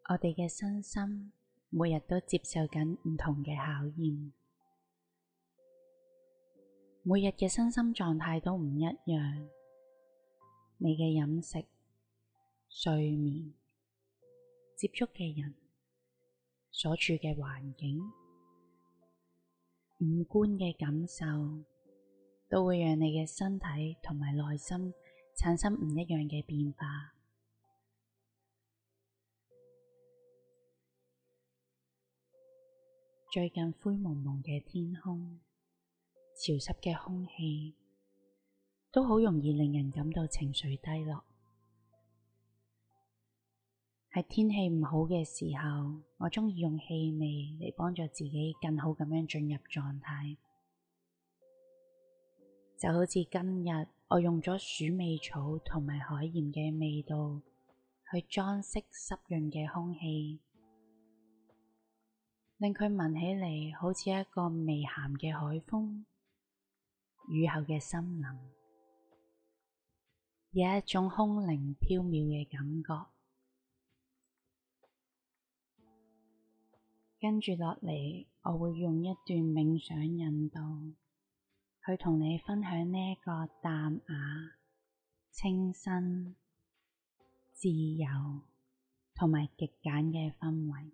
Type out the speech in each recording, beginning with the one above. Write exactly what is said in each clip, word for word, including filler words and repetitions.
我哋嘅身心每日都接受緊唔同嘅考驗，每日嘅身心狀態都唔一樣。你嘅飲食、睡眠、接觸嘅人、所處嘅環境、五官嘅感受，都會讓你嘅身體同埋內心產生唔一樣嘅變化。最近灰蒙蒙嘅天空、潮濕嘅空氣，都好容易令人感到情緒低落。喺天氣唔好嘅時候，我鍾意用氣味嚟幫助自己更好咁樣進入狀態。就好似今日我用咗鼠尾草同埋海鹽嘅味道去裝飾濕潤嘅空氣，令佢聞起嚟好似一個微鹹嘅海風、雨後嘅森林，有一種空靈飄渺嘅感覺。跟住落嚟，我會用一段冥想引導，去同你分享呢一個淡雅、清新、自由同埋極簡嘅氛圍。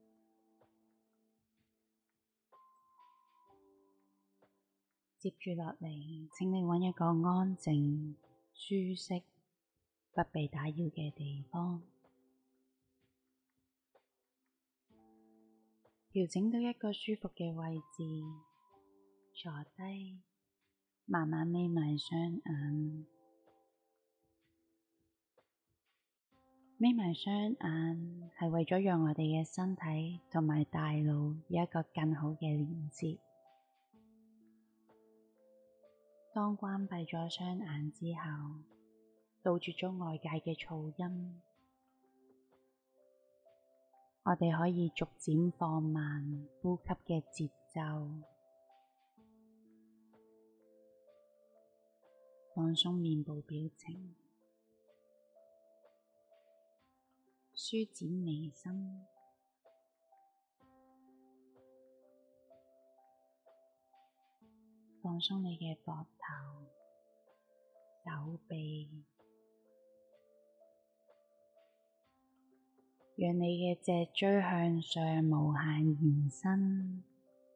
接住落嚟，請你揾一個安靜、舒適、不被打擾嘅地方，調整到一個舒服嘅位置，坐低，慢慢眯埋雙眼。眯埋雙眼係為咗讓我哋嘅身體同埋大腦有一個更好嘅連接。當關閉咗雙眼之後，杜絕咗外界嘅噪音，我哋可以逐漸放慢呼吸嘅節奏，放鬆面部表情，舒展眉心，放鬆你嘅膊頭、手臂，讓你嘅脊椎向上無限延伸，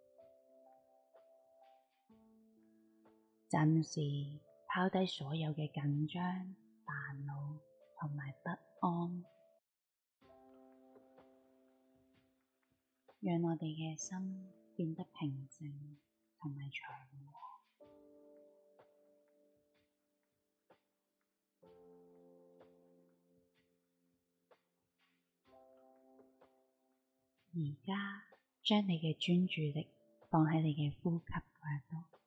暫時拋低所有嘅緊張、煩惱同埋不安，讓我哋嘅心變得平靜同埋祥和。而家將你嘅專注力放喺你嘅呼吸嗰度，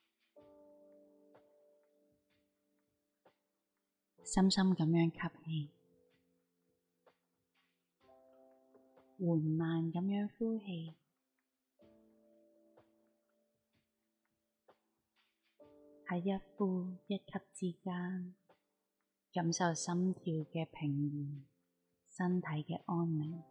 深深咁樣吸氣，緩慢咁樣呼氣，喺一呼一吸之間，感受心跳嘅平緩，身體嘅安寧。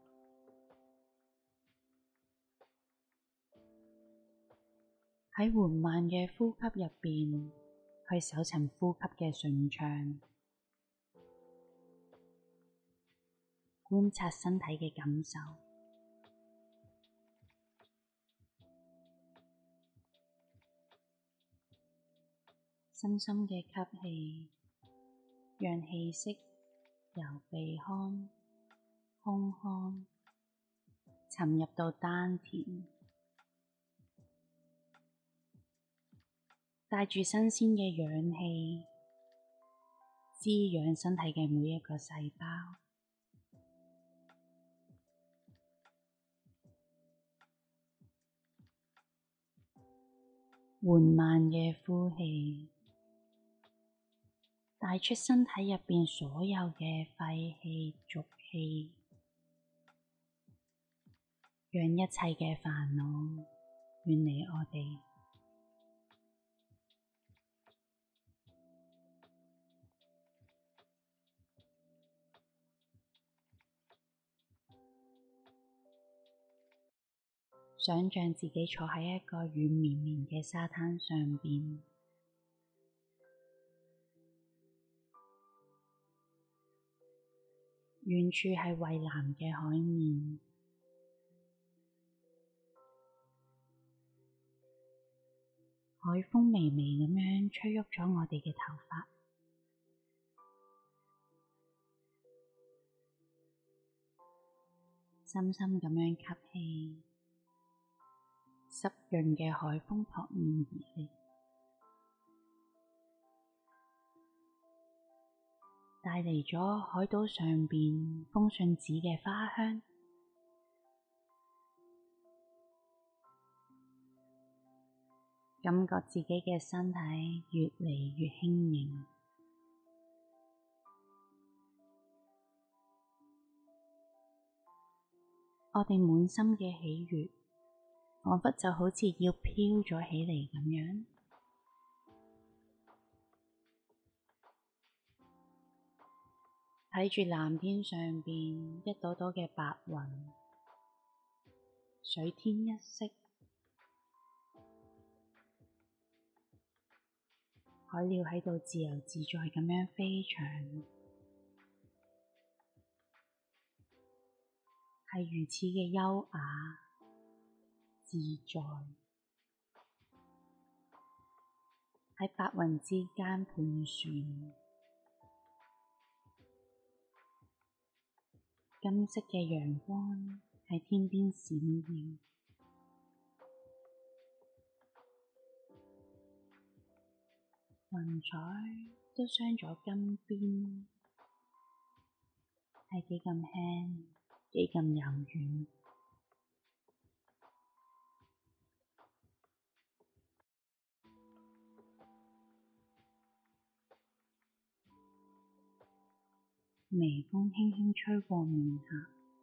喺緩慢嘅呼吸入邊，去搜尋呼吸嘅順暢，觀察身體嘅感受，深深嘅吸氣，讓氣息由鼻腔、胸腔沉入到丹田，帶住新鮮嘅氧氣，滋養身體嘅每一個細胞。緩慢嘅呼氣，帶出身體入邊所有嘅廢氣、濁氣，讓一切嘅煩惱遠離我哋。 想像自己坐喺一個軟綿綿嘅沙灘上邊，遠處係蔚藍嘅海面，海風微微咁樣吹喐咗我哋嘅頭髮，深深咁樣吸氣，濕潤嘅海風撲面而嚟，帶嚟咗海島上邊風信子嘅花香，感覺自己嘅身體越嚟越輕盈。我哋滿心嘅喜悅，彷彿就好似要飄咗起嚟咁樣。睇住藍天上邊一朵朵嘅白雲，水天一色，海鳥喺度自由自在咁樣飛翔，係如此嘅優雅自在，喺白雲之間盤旋，金色嘅陽光喺天邊閃耀，雲彩都鑲咗金邊，係幾咁輕，幾咁柔軟。微風輕輕吹過面頰，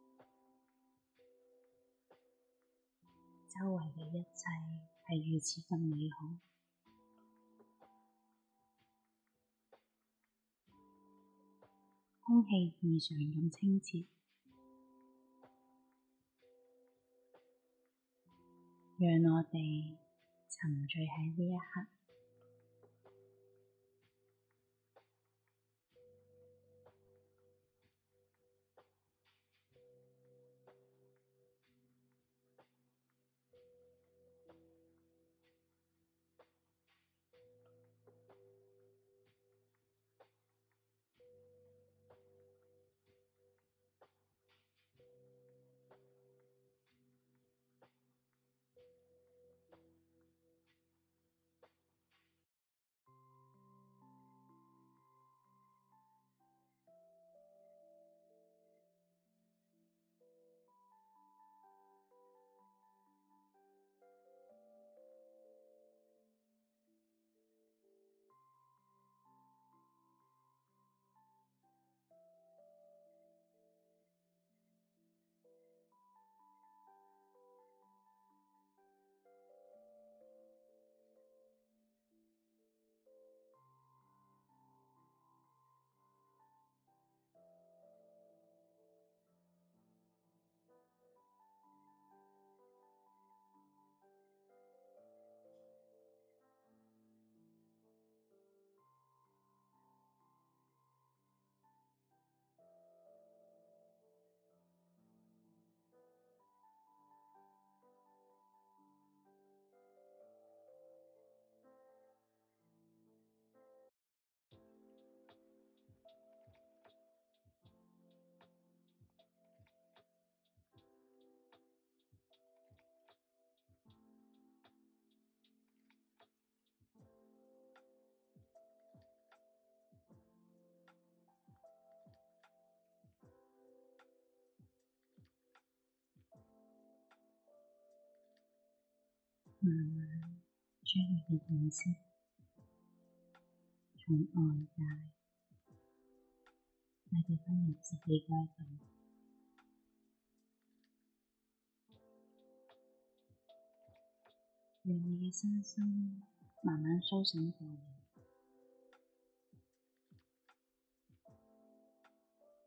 周圍嘅一切係如此咁美好，空氣異常咁清澈，讓我哋沉醉喺呢一刻。慢慢將你嘅意識從外界帶到返入自己嗰度，讓你嘅身心慢慢甦醒過嚟，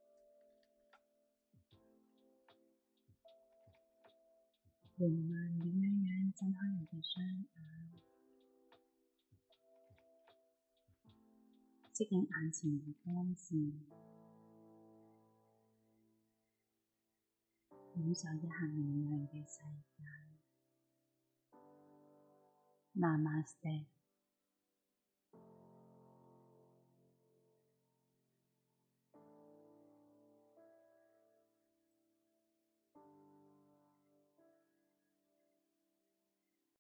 緩慢咁睜開你嘅雙眼，適應眼前嘅光線，感受一下明亮嘅世界。Namaste。